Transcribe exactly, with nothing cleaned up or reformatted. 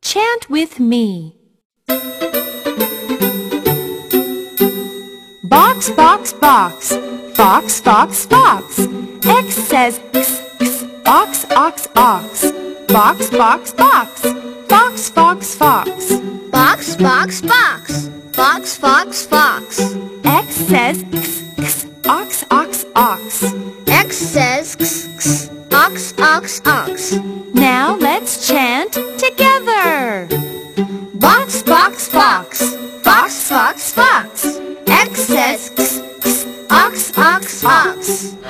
Chant with me. Box, box, box. Fox, fox, fox. X says x, x. Ox, ox, ox. Box, box, box. Fox, fox, fox. Box, box, box. Fox, fox, fox. X says x, x. Ox, ox, ox. X says x, x. Ox, ox, ox. Now let's chant together. Box, box, box. Fox, fox, fox. X says x, x. Ox, ox, ox.